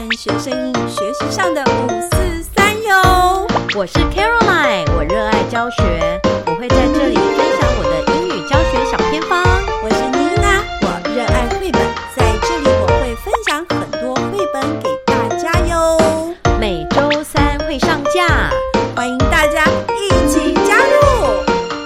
學生英語學習上的543喲。 我是 Caroline， 我熱愛教學，我會在這裡分享我的英語教學小偏方。 我是妮娜，我熱愛繪本，在這裡我會分享很多繪本給大家喲。 每週三會上架， 歡迎大家一起加入。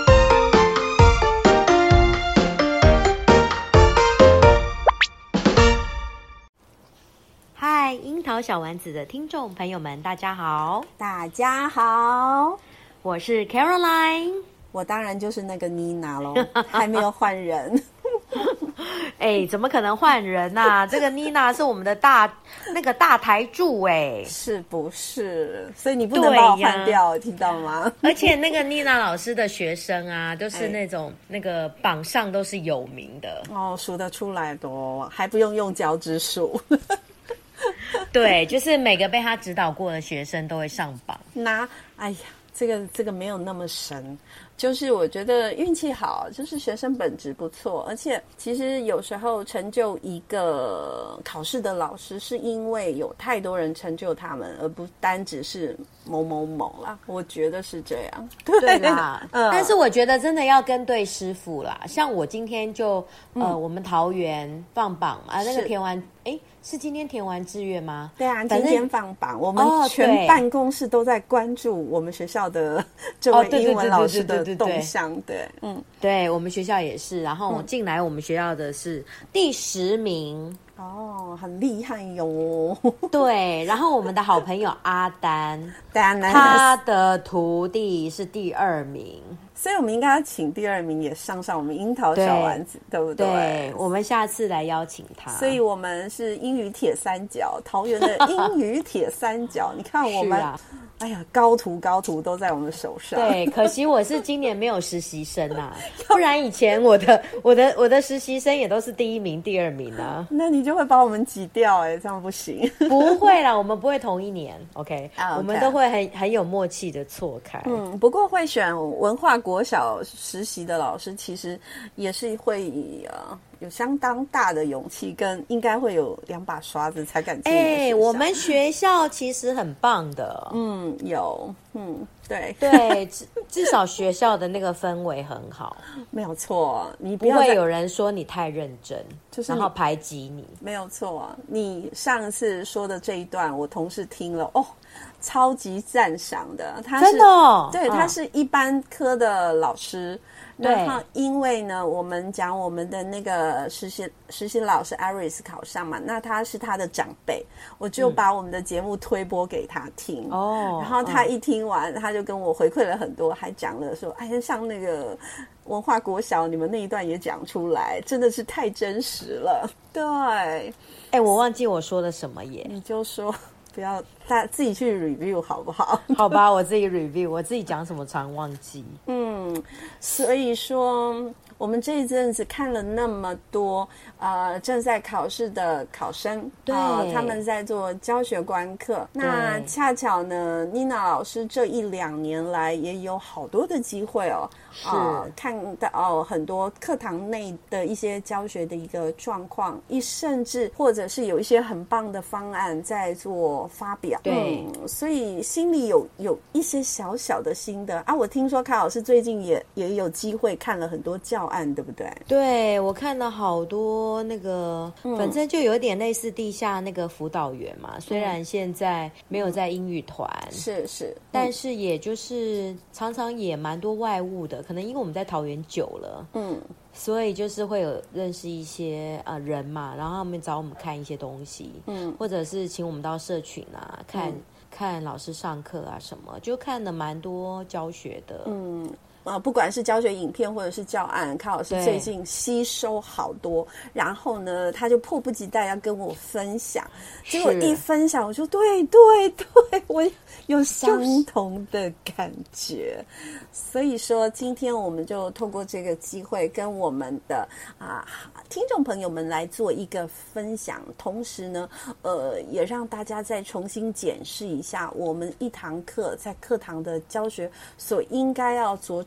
嗨，櫻桃小丸子的聽眾朋友們，大家好！ 大家好， 我是 Caroline， 我當然就是那個妮娜咯，還沒有換人。 哎，怎麼可能換人啊？這個妮娜是我們的大台柱哎， 是不是？所以你不能把我換掉，聽到嗎？ 而且那個妮娜老師的學生啊，都是那種那個榜上都是有名的哦，數得出來的哦，還不用腳趾數。 對，就是每個被他指導過的學生都會上榜。 哎呀，這個沒有那麼神，就是我覺得運氣好，就是學生本質不錯，而且其實有時候成就一個考試的老師，是因為有太多人成就他們，而不單只是某某某啦。我覺得是這樣。 对啦，但是我覺得真的要跟對師傅啦。像我今天就我們桃園放榜啊，那個填完是今天填完志願嗎？ 對啊，今天放榜，我們全辦公室都在關注我們學校的這位英文老師的動向。 對，我們學校也是。然後進來我們學校的是第10名。 哦，很厲害喲。 對，然後我們的好朋友阿丹，他的徒弟是第2名。 所以我們應该要請第2名也上我們櫻桃小丸子， 對不对？ 对，我們下次來邀請他。所以我們是英語鐵三角，桃園的英語鐵三角。你看我們，哎呀，高徒都在我們手上。對， 可惜我是今年沒有實習生啊，不然以前我的實習生也都是第1名、第2名啊。 那你就會把我們擠掉這樣不行。 不會啦，我們不會同一年 ，OK， 我們都會很有默契的錯開。 不過會選文化國小實習的老師，其實也是會有相當大的勇氣，跟應該會有2把刷子才敢進。 我們學校其實很棒的。 有， 对，至少學校的那個氛圍很好， 沒有錯。你不會有人說你太認真， 就是然後排擠你， 沒有錯。你上次說的這一段，我同事聽了超級讚賞的。他是真的對，他是一般科的老師。然後因為呢，我們講我們的那個實習老師 Aris 考上嘛，那他是他的長輩，我就把我們的節目推播給他聽。然後他一聽完，他就跟我回饋了很多，還講了說，哎呀，像那個文化國小你們那一段也講出來，真的是太真實了。对， 我忘記我說了什麼耶， 你就說。不要，大家自己去 review 好不好？ 好吧，我自己 review， 我自己講什麼常忘記。 所以說我們這一陣子看了那麼多正在考試的考生，他們在做教學觀課。那恰巧呢，妮娜老師這1-2年來也有好多的機會看到很多課堂內的一些教學的一個狀況，甚至或者是有一些很棒的方案在做發表。所以心裡有一些小小的心得啊。我聽說卡老師最近也有機會看了很多教案，对不對？对， 我看了好多那個，反正就有點類似地下那個輔導員嘛。雖然現在沒有在英語團，是，但是也就是常常也蠻多外務的。可能因為我們在桃園久了，所以就是會有認識一些人嘛，然後他們找我們看一些東西，或者是請我們到社群啊，看老師上課啊什麼，就看了蠻多教學的。不管是教學影片或者是教案，卡老師最近吸收好多，然後呢，他就迫不及待要跟我分享。結果一分享，我就对，我有相同的感覺。所以說，今天我們就透過這個機會，跟我們的聽眾朋友們來做一個分享，同時呢，也讓大家再重新檢視一下我們一堂課在課堂的教學所應該要着重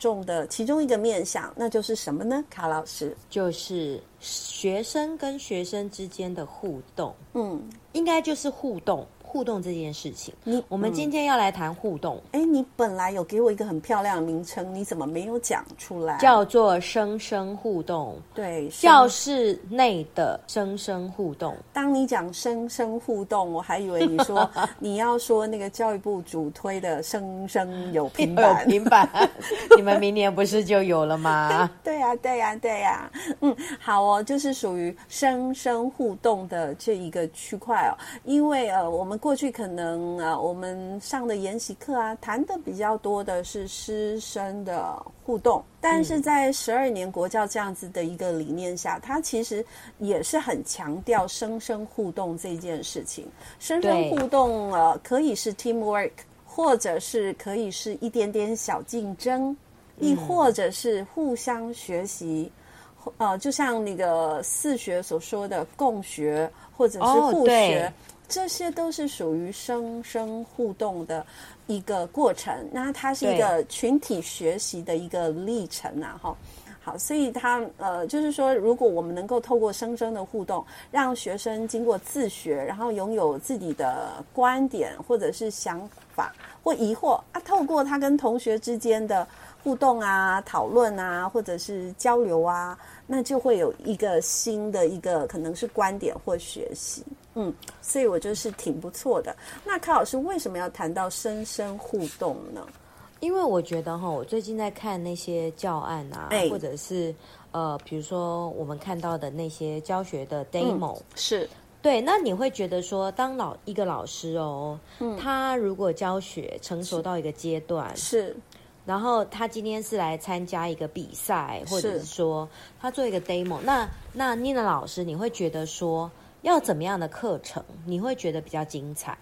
重的其中一個面向，那就是什麼呢？卡老師， 就是學生跟學生之間的互動。應該就是互動這件事情。我們今天要來談互動。 你本來有給我一個很漂亮的名稱，你怎麼沒有講出來？ 叫做生生互動。 對， 教室內的生生互動。 當你講生生互動，我還以為你說你要說那個教育部主推的生生有平板。 有平板，你們明年不是就有了嗎？ 对呀。好哦，就是屬於生生互動的這一個區塊哦。因為我們過去可能我們上的研習課啊，談的比較多的是師生的互動，但是在12年國教這樣子的一個理念下，它其實也是很強調生生互動這件事情。生生互動可以是 teamwork， 或者是可以是一點點小競爭，亦或者是互相學習。就像那個四學所說的共學或者是互學，這些都是屬於生生互動的一個過程。那它是一個群體學習的一個歷程啊，好，所以它就是說，如果我們能夠透過生生的互動，讓學生經過自學，然後擁有自己的觀點或者是想法或疑惑啊，透過他跟同學之間的互動啊、討論啊，或者是交流啊，那就會有一個新的一個可能是觀點或學習。所以我就是挺不錯的。那卡老師為什麼要談到生生互動呢？ 因為我覺得我最近在看那些教案啊，或者是比如說我們看到的那些教學的 demo， 是对。那你會覺得說，當一個老師他如果教學成熟到一個階段， 是， 然後他今天是來參加一個比賽，或者是說他做一個 demo， 那 Nina 老師，你會覺得說要怎麼樣的課程你會覺得比較精彩？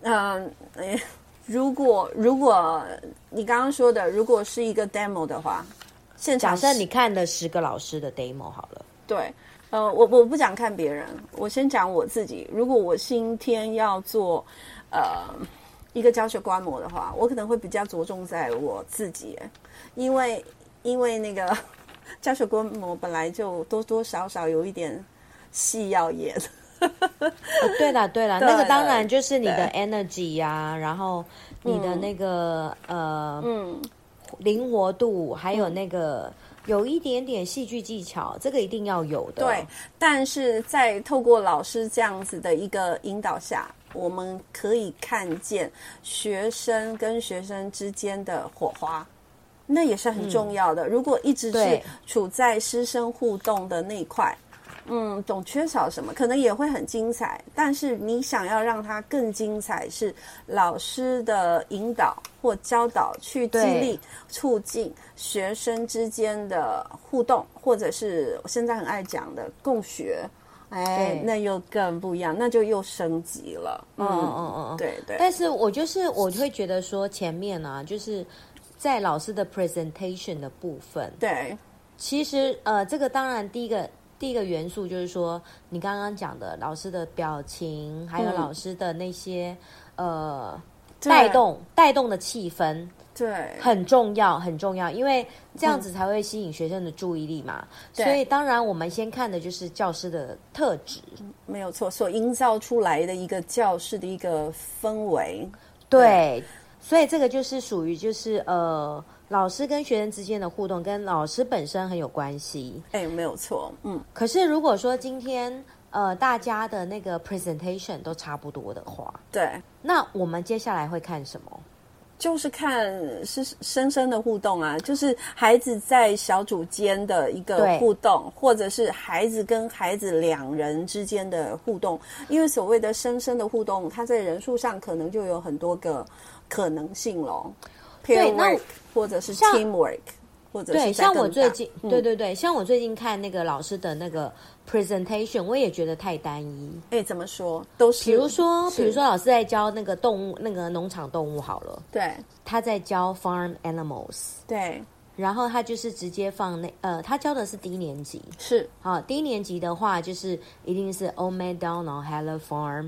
如果你剛剛說的，如果是一個 demo 的話，現場假設你看了10個老師的 demo 好了。 對，我不講看別人，我先講我自己。如果我今天要做一個教學觀摩的話，我可能會比較着重在我自己，因為那個教學觀摩本來就多多少少有一點戲要演。 對啦，那個當然就是你的 energy 啊，然後你的那個靈活度，還有那個有一點點戲劇技巧，這個一定要有的。 對，但是在透過老師這樣子的一個引導下，我們可以看見學生跟學生之間的火花，那也是很重要的。如果一直是處在師生互動的那一塊，總缺少什麼，可能也會很精彩，但是你想要讓它更精彩，是老師的引導或教導去激勵促進學生之間的互動，或者是我現在很愛講的共學，那又更不一樣，那就又升級了。对。 但是我會覺得說前面啊，就是在老師的 presentation 的部分， 對， 其實這個當然第一個元素就是說，你剛剛講的老師的表情，還有老師的那些帶動的氣氛， 對， 很重要，因為這樣子才會吸引學生的注意力嘛。所以當然我們先看的就是教師的特質， 沒有錯，所營造出來的一個教室的一個氛圍， 對，所以這個就是屬於就是老師跟學生之間的互動跟老師本身很有關係。 沒有錯。 可是如果說今天大家的那個 presentation 都差不多的話， 对， 那我們接下來會看什麼？ 就是看是生生的互動啊，就是孩子在小組間的一個互動，或者是孩子跟孩子2人之間的互動。因為所謂的生生的互動，它在人數上可能就有很多個可能性咯。 对，那或者是 teamwork， 或者是对，像我最近，对，像我最近看那個老師的那個 presentation， 我也覺得太單一。 怎麼說？都是， 比如說老師在教那個動物，那個農場動物好了， 對， 他在教 farm animals， 對， 然後他就是直接放他教的是低年級， 是， 低年級的話就是一定是 Old MacDonald Hello Farm。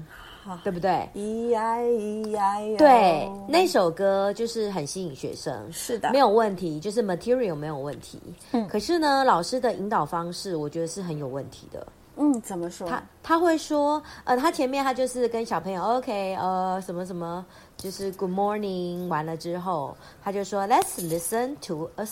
對不對 ？EIEIO。 對，那首歌就是很吸引學生， 是的， 沒有問題，就是 material 沒有問題。可是呢，老師的引導方式，我覺得是很有問題的。 怎麼說？ 他會說，他前面他就是跟小朋友 ，OK，什麼什麼，就是 Good morning 完了之後，他就說 Let's listen to a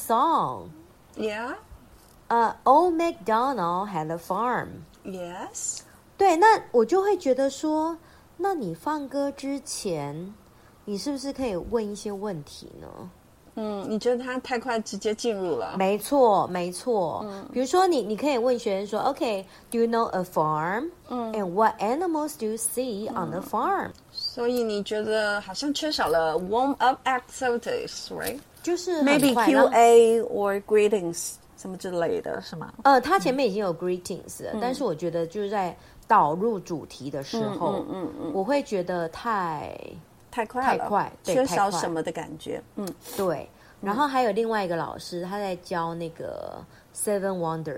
song。Yeah。Old MacDonald had a farm。Yes。對，那我就會覺得說，那你放歌之前，你是不是可以問一些問題呢？ 你覺得他太快直接進入了？ 沒錯，沒錯。比如說你可以問學生說 ，OK，do you know a farm？And what animals do you see on the farm？ 所以你覺得好像缺少了 warm up activities，right？ 就是 maybe QA or greetings 什麼之類的，是嗎？ 他前面已經有 greetings 了，但是我覺得就是在導入主題的時候，我會覺得太快了， 缺少什麼的感覺。 對。然後還有另外一個老師，他在教那個 Seven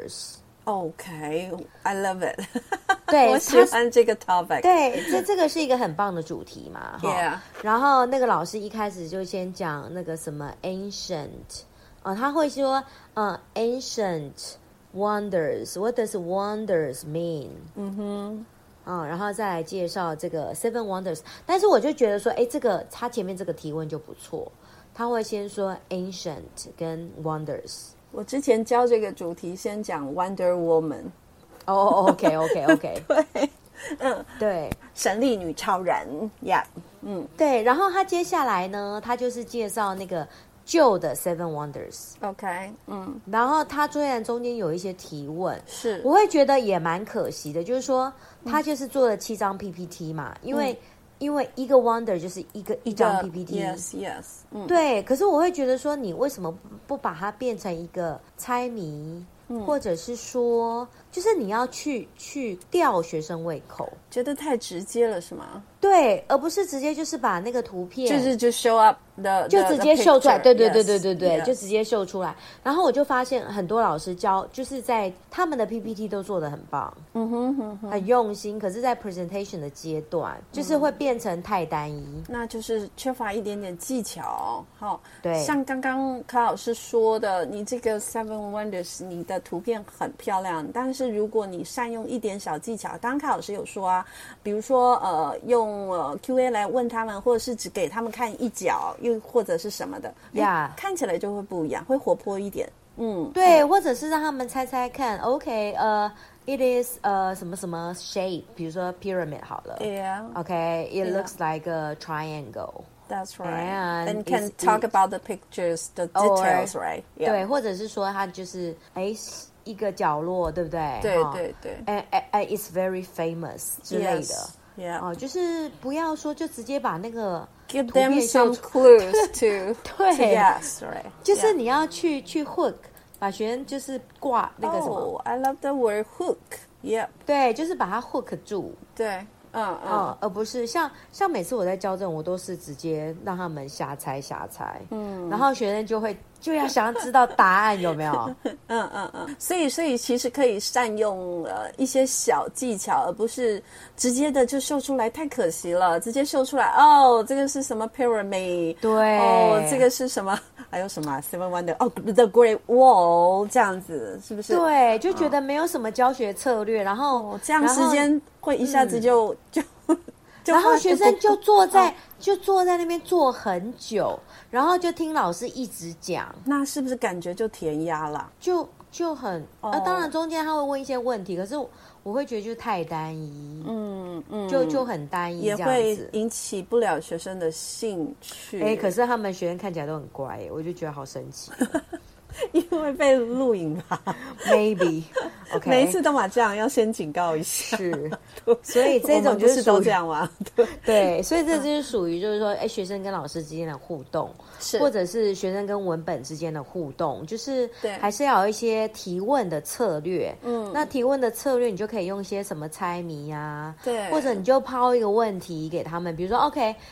Wonders。OK，I love it。 對， 我喜歡這個 topic。 對，這個是一個很棒的主題嘛。 Yeah。 然後那個老師一開始就先講那個什麼 ancient，他會說ancient wonders，what does wonders mean？然後再來介紹這個 Seven Wonders， 但是我就覺得說，這個他前面這個提問就不錯，他會先說 ancient 跟 wonders。 我之前教這個主題，先講 Wonder Woman。 OK。 對， 對， 神力女超人呀， 對，然後他接下來呢，他就是介紹那個舊的 Seven Wonders。OK， 然後他雖然中間有一些提問， 是我會覺得也蠻可惜的，就是說他就是做了7張 PPT 嘛，因為一個 Wonder 就是一張 PPT。Yes。對，可是我會覺得說，你為什麼不把它變成一個猜謎，或者是說，就是你要去吊學生胃口， 覺得太直接了是嗎？ 對，而不是直接就是把那個圖片就 show up 就直接秀出來，對，就直接秀出来。然後我就發现很多老師教，就是在他們的 PPT 都做得很棒，很用心。可是，在 presentation 的階段，就是會變成太單一， 那就是缺乏一點點技巧。 對， 像剛剛柯老師說的，你這個 Seven Wonders， 你的圖片很漂亮，但是如果你善用一點小技巧，剛剛柯老師有說啊，比如說用QA 來問他們，或者是只給他們看一角，又或者是什麼的，看起來就會不一樣，會活潑一點。 對，或者是讓他們猜猜看。OK，it is 什麼什麼 shape， 比如說 pyramid 好了。OK，it looks like a triangle。That's right. And can talk about the pictures, the details, right? 對，或者是說它就是一個角落，對不對？ 對。 It's very famous 之類的。就是不要說就直接把那個 give them some clues to 對 yes right， 就是你要去 hook， 把學生就是掛那個什麼 I love the word hook。 對，就是把它 hook 住。 對， 而不是像每次我在教這種，我都是直接讓他們瞎猜，然後學生就要想要知道答案有沒有？ 所以其實可以善用一些小技巧，而不是直接的就秀出來，太可惜了。直接秀出來，這個是什麼 pyramid？ 對， 這個是什麼？還有什麼 Seven Wonder？The Great Wall， 這樣子是不是？ 對，就覺得沒有什麼教學策略，然後這樣時間會一下子就然後學生就坐在那邊坐很久，然後就聽老師一直講， 那是不是感覺就填鴨了？ 就很當然中間他會問一些問題，可是我會覺得就太單一，就很單一，這樣子也會引起不了學生的興趣。 可是他們學生看起來都很乖，我就覺得好神奇。 因為被錄影吧 ，maybe， OK， 每一次都嘛這樣，要先警告一下。 是，所以這種就是都這樣嗎？ 對，所以這就是屬於就是說，學生跟老師之間的互動，或者是學生跟文本之間的互動，就是還是要有一些提問的策略。那提問的策略，你就可以用一些什麼猜謎啊， 對， 或者你就拋一個問題給他們，比如說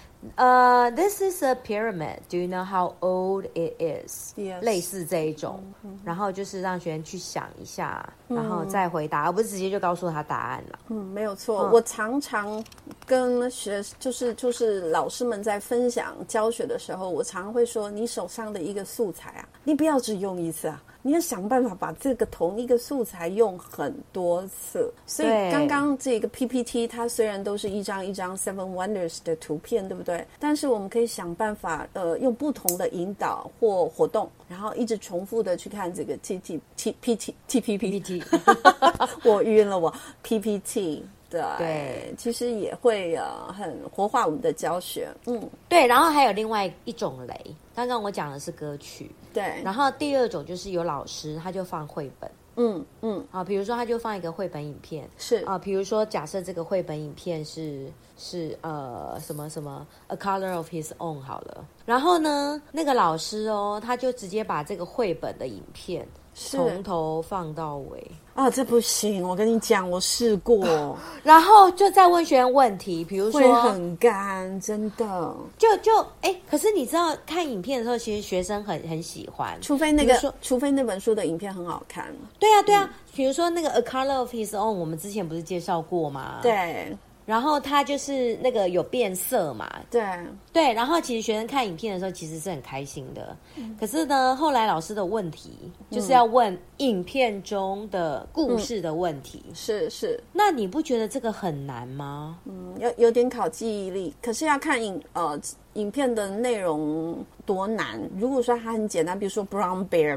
OK。This is a pyramid. Do you know how old it is? 類似這一種，然後就是讓學生去想一下，然後再回答，而不是直接就告訴他答案了。 沒有錯。我常常跟就是老師們在分享教學的時候，我常常會說，你手上的一個素材啊，你不要只用一次啊。你要想辦法把這個同一個素材用很多次，所以剛剛這個 PPT 它雖然都是一張一張 Seven Wonders 的圖片，對不對？但是我們可以想辦法，用不同的引導或活動，然後一直重複的去看這個 PPT 我暈了我 PPT。對，其實也會很活化我們的教學。 对，然後還有另外一種雷，剛剛我講的是歌曲， 對， 然後第二種就是有老師他就放繪本，比如說他就放一個繪本影片， 是比如說假設這個繪本影片是什麼什麼 A Color of His Own 好了，然後呢那個老師他就直接把這個繪本的影片從頭放到尾。 這不行，我跟你講，我試過， 然後就在問學員問題，比如說會很乾，真的， 可是你知道看影片的時候，其實學生很喜歡， 除非那本書的影片很好看。 对啊，比如說那個 A Color of His Own， 我們之前不是介紹過嗎？ 對。 然後它就是那個有變色嘛，對，然後其實學生看影片的時候其實是很開心的，可是呢，後來老師的問題就是要問影片中的故事的問題， 是， 那你不覺得這個很難嗎？ 有點考記憶力，可是要看影片的內容多難。如果說它很簡單，比如說 Brown Bear，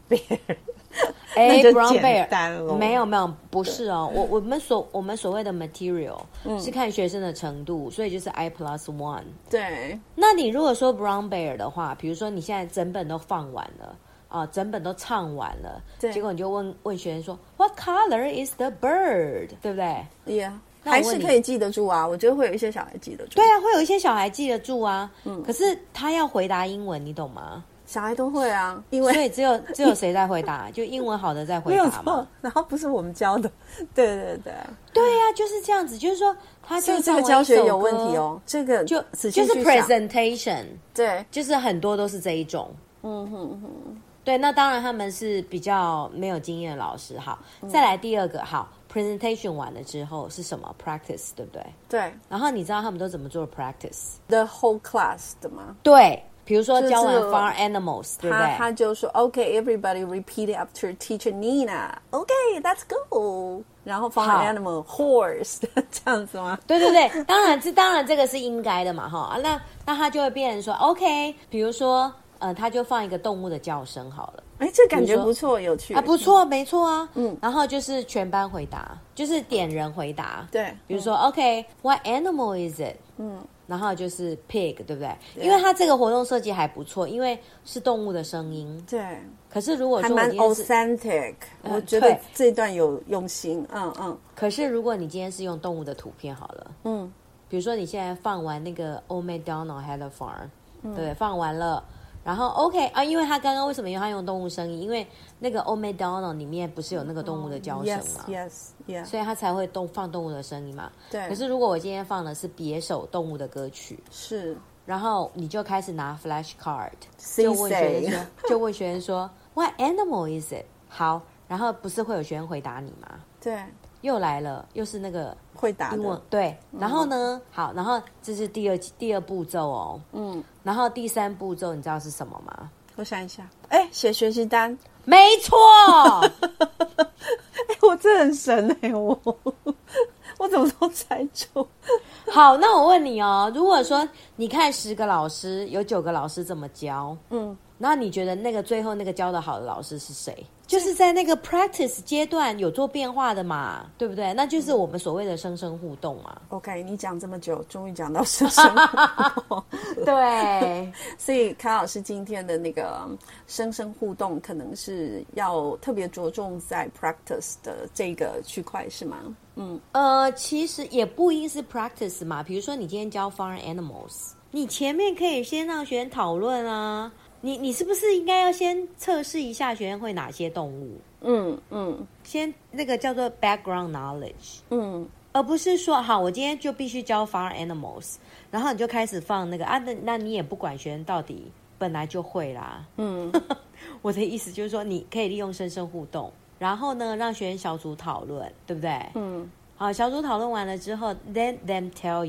那就簡單了。 沒有，不是哦。我們所謂的 material 是看學生的程度，所以就是 I+1。 對。那你如果說 Brown Bear 的話，比如說你現在整本都放完了整本都唱完了，結果你就問學生說 What color is the bird？ 對不對 ？Yeah。還是可以記得住啊，我覺得會有一些小孩記得住。 對啊，會有一些小孩記得住啊。可是他要回答英文，你懂嗎？ 小孩都會啊，因為所以只有誰在回答？就英文好的在回答嘛。 沒有錯，然後不是我們教的。對啊，就是這樣子，就是說他就這個教學有問題哦。這個就是 presentation， 對， 就是很多都是這一種。對，那當然他們是比較沒有經驗的老師。好，再來第二個，好 ，presentation 完了之後是什麼 ？practice， 對不對？ 對。 然後你知道他們都怎麼做 practice？The whole class 的嗎？ 對。比如說教完 farm animals， 對不對？ 他就說 OK, everybody repeat after teacher Nina. OK, let's go. 然後 farm animal horse 這樣子嗎？ 對，當然這個是應該的嘛，哈。那他就會變成說 OK， 比如說他就放一個動物的叫聲好了。 這感覺不錯，有趣不錯，沒錯啊。然後就是全班回答，就是點人回答。 對， 比如說 OK，what animal is it？然後就是 pig， 對不對？因為它這個活動設計還不錯，因為是動物的聲音。 對。 可是如果說還蠻 authentic，我覺得這一段有用心。 可是如果你今天是用動物的圖片好了，比如說你現在放完那個 Old MacDonald Had a Farm， 對，放完了。然後 OK 啊，因為他剛剛為什麼他用動物聲音？因為那個 Old MacDonald 裡面不是有那個動物的叫聲嘛 ？Yes， 所以他才會放動物的聲音嘛。 對。 可是如果我今天放的是別首動物的歌曲， 是， 然後你就開始拿 flashcard， 就問學生說 What animal is it？ 好，然後不是會有學生回答你嗎？ 對。 又來了，又是那個會答的， 對。然後呢，好，然後這是第二步驟哦。然後第三步驟你知道是什麼嗎？ 我想一下，寫學習單， 沒錯。 我這很神我怎麼都猜中。 好，那我問你哦，如果說你看10個老師，有9個老師這麼教，那你覺得那個最後那個教得好的老師是誰？就是在那個 practice 階段有做變化的嘛，對不對？那就是我們所謂的生生互動嘛。 OK， 你講這麼久，終於講到生生互動。 對， 所以卡老師今天的那個生生互動，可能是要特別着重在 practice 的這個區塊，是嗎？ 其實也不一定是 practice 嘛。比如說你今天教 farm animals， 你前面可以先讓學生討論啊。你是不是應該要先測試一下學生會哪些動物？先那個叫做 background knowledge。而不是說好，我今天就必須教 farm animals， 然後你就開始放那個那你也不管學生到底本來就會啦。我的意思就是說，你可以利用生生互動， 然後呢，讓學生小組討論，對不對？好，小組討論完了之後 ，let them tell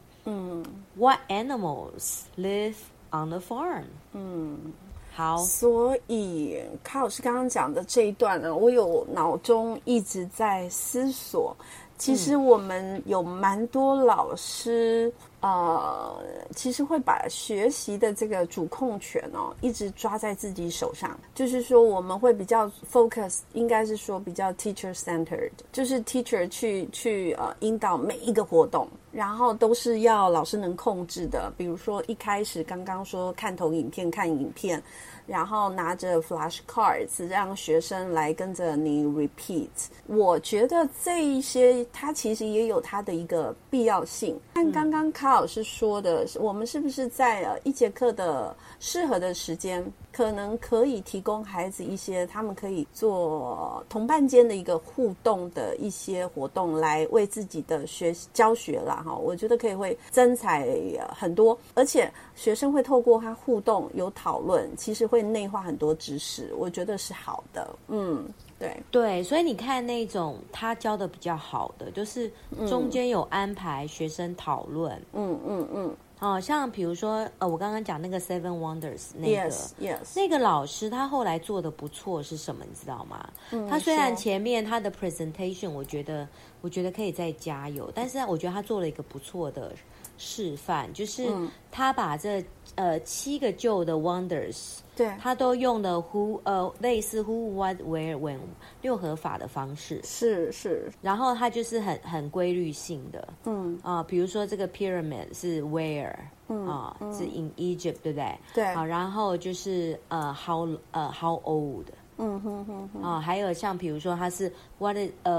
you，what animals live on the farm。好， 所以卡老師剛剛講的這一段呢，我有腦中一直在思索，其實我們有蠻多老師，其實會把學習的這個主控權一直抓在自己手上。就是說，我們會比較 focus， 應該是說比較 teacher centered， 就是 teacher 去引導每一個活動，然後都是要老師能控制的。比如說一開始剛剛說看投影片、看影片，然後拿着 flashcards 讓學生來跟着你 repeat。我覺得這一些它其實也有它的一個必要性。看刚剛卡老師說的，我們是不是在一節課的適合的時間，可能可以提供孩子一些他們可以做同伴間的一個互動的一些活動，來為自己的教學啦哈，我覺得可以會增彩很多，而且學生會透過他互動有討論，其實會內化很多知識，我覺得是好的。對， 所以你看那種他教的比較好的，就是中間有安排學生討論，像比如說我剛剛講那個 Seven Wonders 那個 yes. 那個老師他後來做的不錯是什麼你知道嗎？他雖然前面他的 presentation 我覺得可以再加油，但是我覺得他做了一個不錯的示範，就是他把這7個舊的 wonders， 對，他都用了類似 who what where when 六合法的方式， 是，然後他就是很規律性的，比如說這個 pyramid 是 where，是 in Egypt， 对不对？ 对， 然後就是how old。還有像比如說它是 what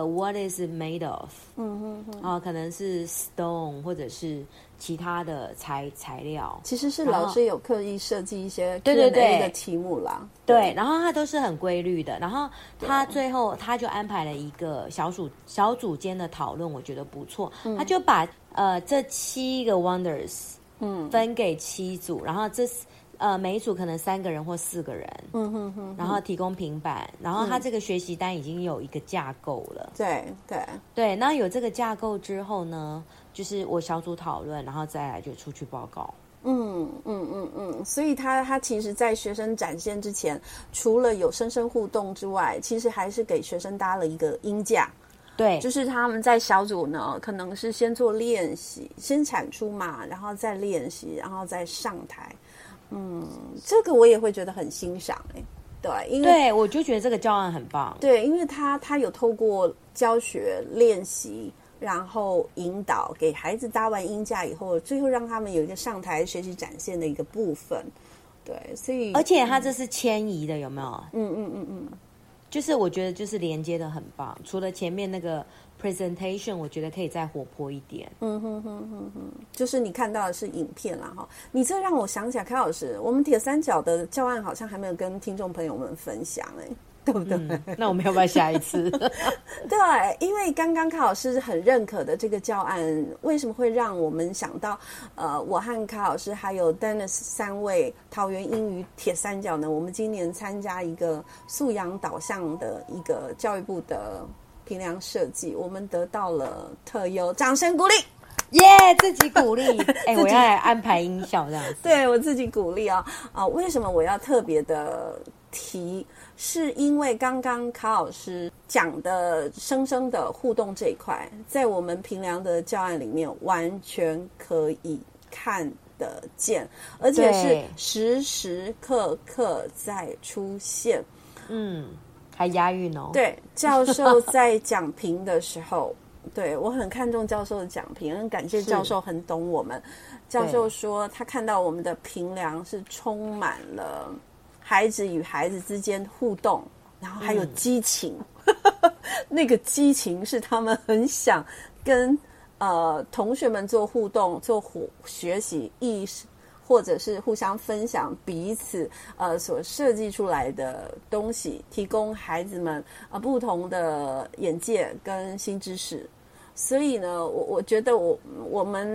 is it made of， 可能是 stone 或者是其他的材料， 其實是老師有刻意設計一些 Q&A 的題目啦。 對，然後它都是很規律的，然後他最後他就安排了一個小組間的討論，我覺得不錯。他就把這7個 wonders 分給7組，然後每一組可能3個人或4個人，然後提供平板，然後他這個學習單已經有一個架構了。對，那有這個架構之後呢，就是我小組討論，然後再來就出去報告。 所以他其實在學生展現之前，除了有生生互動之外，其實還是給學生搭了一個鷹架。 對， 就是他們在小組呢，可能是先做練習，先產出嘛，然後再練習，然後再上台。這個我也會覺得很欣賞對，因為對我就覺得這個教案很棒。 對，因為他有透過教學練習，然後引導給孩子搭完鷹架以後，最後讓他們有一個上台學習展現的一個部分。對，所以而且他這是遷移的，有沒有？就是我覺得就是連接的很棒，除了前面那個 presentation 我覺得可以再活潑一點。 就是你看到的是影片啦哈，你這讓我想起來，卡老師，我們鐵三角的教案好像還沒有跟聽眾朋友們分享對不对？ 那我們要不要下一次？ 对，因為剛剛卡老師很認可的這個教案，為什麼會讓我們想到我和卡老師還有 Dennis 3位桃園英語鐵三角呢？我們今年參加一個素養導向的一個教育部的評量設計，我們得到了特優，掌聲鼓勵！ 耶，自己鼓勵。我要來安排音效這樣子。 對，我自己鼓勵為什麼我要特別的提？是因為剛剛卡老師講的生生的互動這一塊，在我們評量的教案裡面完全可以看得見，而且是時時刻刻在出現。 還押韻哦。 對，教授在講評的時候，對，我很看重教授的講評，很感謝教授很懂我們。教授說他看到我們的評量是充滿了孩子與孩子之間互動，然後還有激情。那個激情是他們很想跟同學們做互動、做學習意識，或者是互相分享彼此所設計出來的東西，提供孩子們不同的眼界跟新知識。所以呢，我覺得我們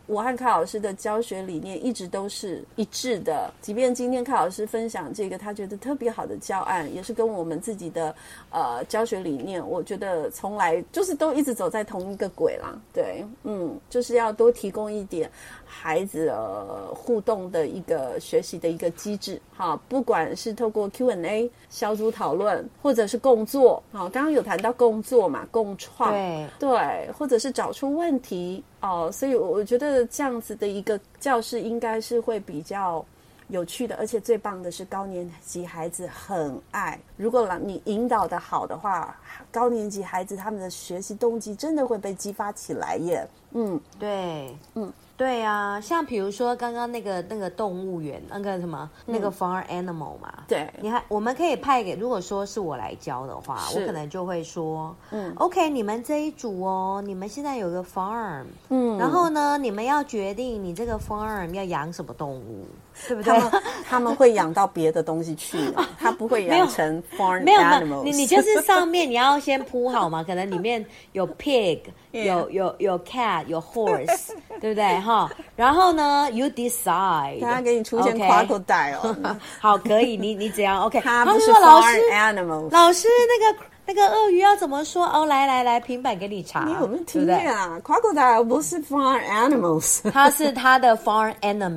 我和卡老師的教學理念一直都是一致的，即便今天卡老師分享這個他覺得特別好的教案，也是跟我們自己的教學理念，我覺得從來就是都一直走在同一個軌啦。對，就是要多提供一點孩子互動的一個學習的一個機制，哈，不管是透過 Q&A 小組討論，或者是共作，好，剛剛有談到共作嘛，共創，對，或者是找出問題所以我覺得這樣子的一個教室應該是會比較有趣的，而且最棒的是高年級孩子很愛，如果你引導的好的話，高年級孩子他們的學習動機真的会被激發起來耶。 对，对啊，像比如說剛剛那個動物園那個什麼那個 farm animal 嘛， 對， 我們可以派給，如果說是我來教的話，我可能就會說，OK， 你們這一組你們現在有個 farm，然後呢，你們要決定你這個 farm 要養什麼動物，對不對？ 他們會養到別的東西去，他不會養成 farm animals。 沒有，你就是上面你要先鋪好嘛，可能裡面有 pig， 有 cat， 有 horse， 對不對？然後呢 ，you decide， 他給你出現 crocodile， 好，可以，你只要 OK。 他不是 farm animals， 老師那個鱷魚要怎麼說？來，平板給你查。 你有沒有聽見啊 ？crocodile 不是 farm animals， 它是它的 farm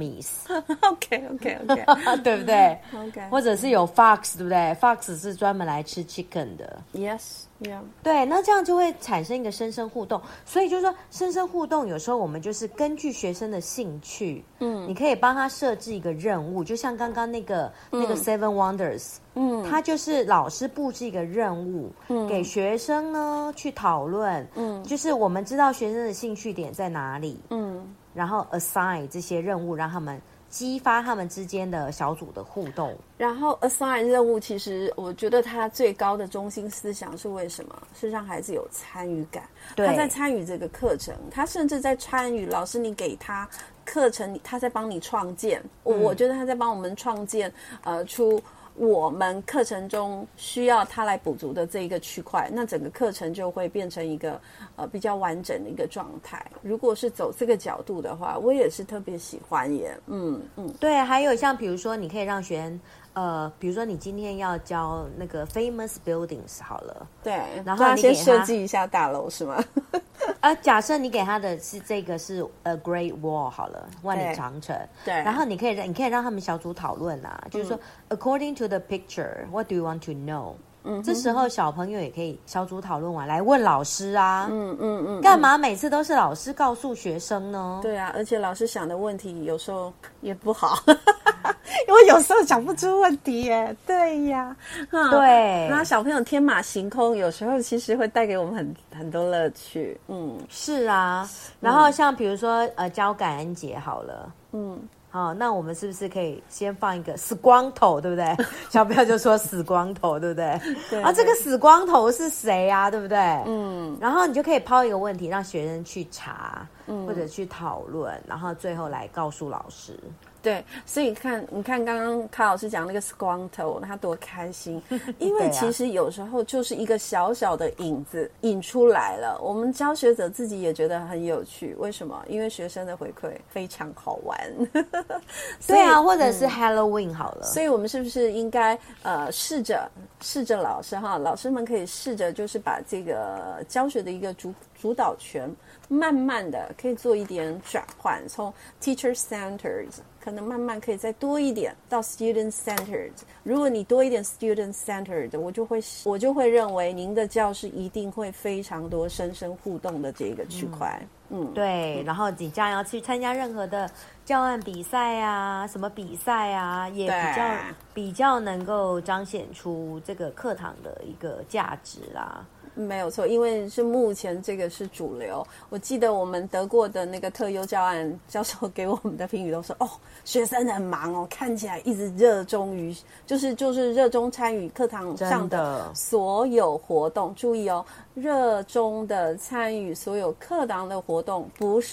enemies。OK， 对不對 ？OK， 或者是有 fox， 对不对 ？fox 是專門來吃 chicken 的。 Yes。Yeah. 對，那這樣就會產生一個生生互動，所以就是說生生互動，有時候我們就是根據學生的興趣，你可以幫他設置一個任務，就像剛剛那個 Seven Wonders，他就是老師布置一個任務，給學生呢去討論，就是我們知道學生的興趣點在哪裡，然後 assign 這些任務，讓他們激發他們之間的小組的互動。 然後 assign 任務，其實我覺得它最高的中心思想是為什麼？是讓孩子有參與感。他在參與這個課程，他甚至在參與老師你給他課程，他在幫你創建。我覺得他在幫我們創建出我們課程中需要他來補足的這一個區塊，那整個課程就會變成一個比較完整的一個狀態。如果是走這個角度的話，我也是特別喜歡耶。 對，還有像比如說，你可以讓學生比如說你今天要教那個 famous buildings 好了， 對， 然後你給他先設計一下大樓是嗎？ 假設你給他的是這個是 a Great Wall 好了，萬里長城， 對， 然後你可以讓他們小組討論就是說 according to the picture, what do you want to know？這時候小朋友也可以小組討論完來問老師啊，幹嘛每次都是老師告訴學生呢？ 對啊，而且老師想的問題有時候也不好，因為有時候想不出問題耶。對呀， 對， 然後小朋友天馬行空，有時候其實會帶給我們很多樂趣。 是啊，然後像比如說教感恩節好了，好，那我們是不是可以先放一個死光頭，對不對？小朋友就說死光頭，對不對？對。這個死光頭是誰啊？對不对？然後你就可以拋一個問題，讓學生去查，或者去討論，然後最後來告訴老師。 对，所以你看剛剛卡老師講那個死光頭，他多開心，因為其實有時候就是一個小小的影子引出來了，我們教學者自己也覺得很有趣。為什麼？因為學生的回饋非常好玩。 對啊，或者是 Halloween 好了。 所以我們是不是應該試着老師們可以試着就是把這個教學的一個主導權慢慢的可以做一點轉換，從 teacher centered 可能慢慢可以再多一點到 student centered。如果你多一點 student centered， 我就會認為您的教室一定會非常多生生互動的這個區塊。 對，然後你將要去參加任何的教案比賽啊，什麼比賽啊，也比較能夠彰顯出這個課堂的一個價值啦。 沒有錯，因為是目前這個是主流。我記得我們得過的那個特優教案，教授給我們的評語都說：學生很忙哦，看起來一直熱衷於，就是熱衷參與課堂上的所有活動。注意哦，熱衷的參與所有課堂的活動，不是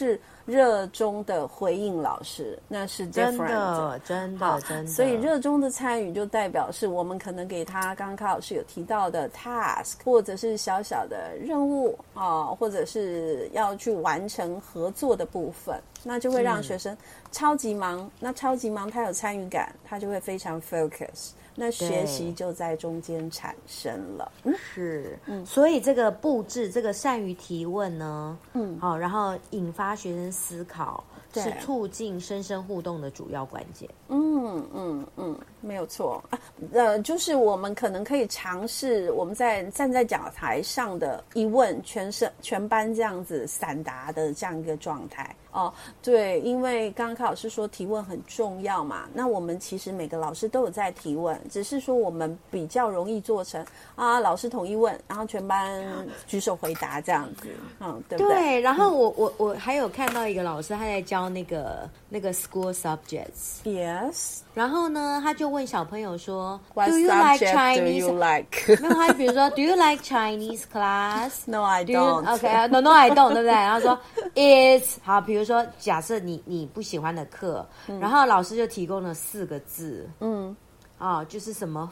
熱衷的回應老師，那是 different， 真的。 所以熱衷的參與就代表是我們可能給他剛剛卡老師有提到的 task， 或者是小小的任務或者是要去完成合作的部分，那就會讓學生超級忙。那超級忙，他有參與感，他就會非常 focus。那學習就在中間產生了。 是，所以這個布置，這個善於提問呢，然後引發學生思考，是促進師生互動的主要關鍵。 沒有錯。就是我們可能可以嘗試，我們站在講台上的一問全班這樣子散答的這樣一個狀態。對，因為剛剛卡老師說提問很重要嘛，那我們其實每個老師都有在提問，只是說我們比較容易做成老師統一問，然後全班舉手回答這樣子，對不對？ 對，然後我還有看到一個老師他在教那個 school subjects，yes， 然後呢他就問小朋友說 What Do you like Chinese? Do you like? 没有，他比如說 Do you like Chinese class? No, I don't. Okay, no, I don't， 對不对？然後說 It's 好，比如說假設你不喜歡的課，然後老師就提供了4個字，就是什麼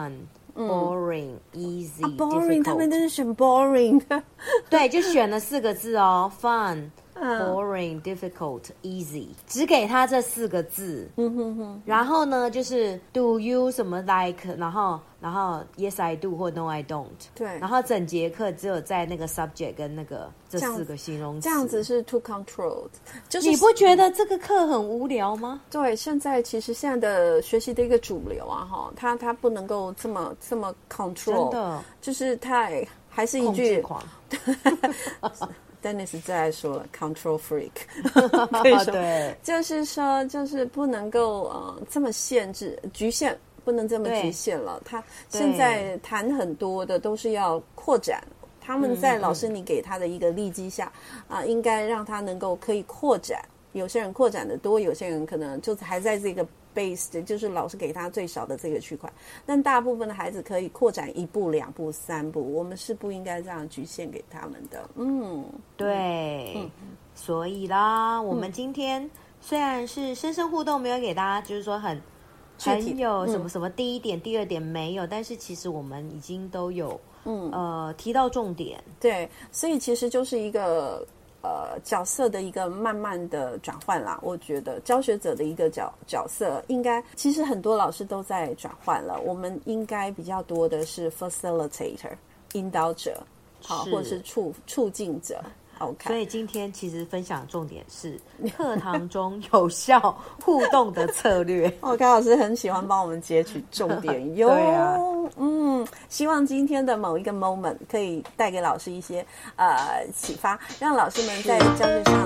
fun。boring, easy, boring， difficult。 他們都是選 boring， 對，就選了4個字哦 ，fun, boring, difficult, easy， 只給他這4個字。然後呢，就是 do you 什麼 like， 然後 yes I do 或 no I don't。 對， 然後整節課只有在那個 subject 跟那個這4個形容詞。 這樣子是 too controlled， 就是你不覺得這個課很無聊嗎？ 對，現在的學習的一個主流它不能夠這麼 control， 真的就是還是一句控制狂。 Dennis 最愛說了 control freak， 可以說對， 就是不能夠這麼限制局限。不能這麼局限了，他現在談很多的都是要擴展，他們在老師你給他的一個利基下應該讓他能夠可以擴展。有些人擴展的多，有些人可能就是還在這個 base， 就是老師給他最少的這個區塊，但大部分的孩子可以擴展1步、2步、3步，我們是不應該這樣局限給他們的。 对，所以啦，我們今天雖然是師生互動，沒有給大家就是說很有什麼什麼第一點、第二點沒有，但是其實我們已經都有提到重點。 對，所以其實就是一個角色的一個慢慢的轉換啦。我覺得教學者的一個角色應該，其實很多老師都在轉換了。我們應該比較多的是 facilitator 引導者，或者是促進者。Okay. 所以今天其實分享重點是課堂中有效互動的策略。 卡老師很喜歡幫我們截取重點喲。對啊，希望今天的某一個 moment 可以帶給老師一些啟發，讓老師們在教學上